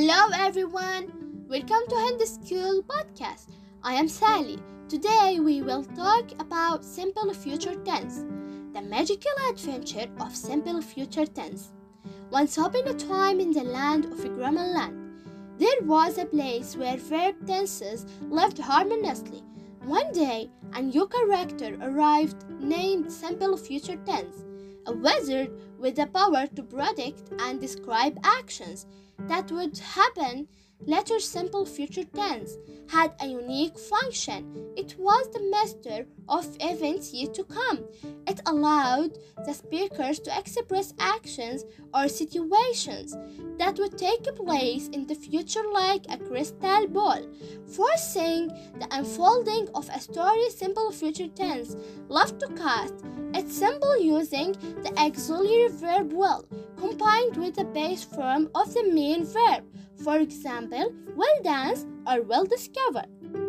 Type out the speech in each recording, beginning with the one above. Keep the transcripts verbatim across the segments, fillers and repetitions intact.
Hello everyone, welcome to Hindi School Podcast. I am Sally. Today we will talk about simple future tense, the magical adventure of simple future tense. Once upon a time in the land of Greenland, there was a place where verb tenses lived harmoniously. One day, a new character arrived named Simple Future Tense, a wizard with the power to predict and describe actions that would happen. Later, Simple Future Tense had a unique function. It was the master of events yet to come. It allowed the speakers to express actions or situations that would take place in the future like a crystal ball, forcing the unfolding of a story. Simple Future Tense loved to cast its symbol using the auxiliary verb will, combined with the base form of the main verb. For example, will dance or will discover.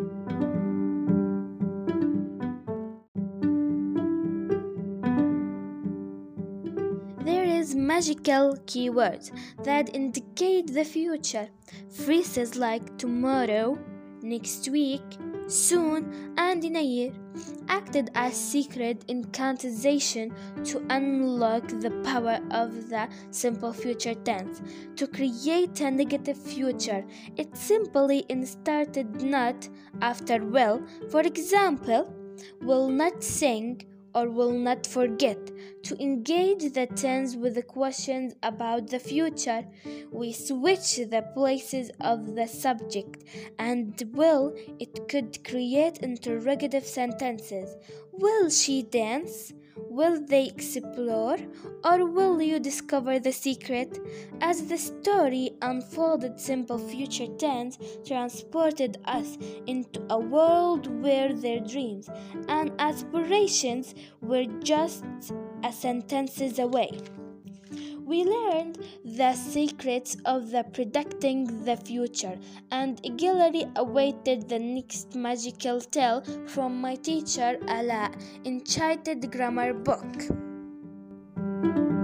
There is magical keywords that indicate the future. Phrases like tomorrow, next week, soon, and in a year acted as secret incantation to unlock the power of the simple future tense. To create a negative future, it simply inserted not after will. For example, will not sing or will not forget. To engage the tense with the questions about the future, we switch the places of the subject and will. It could create interrogative sentences. Will she dance? Will they explore? Or will you discover the secret? As the story unfolded, Simple Future Tense transported us into a world where their dreams and aspirations were just a sentences away. We learned the secrets of the predicting the future and eagerly awaited the next magical tale from my teacher Ala, enchanted grammar book.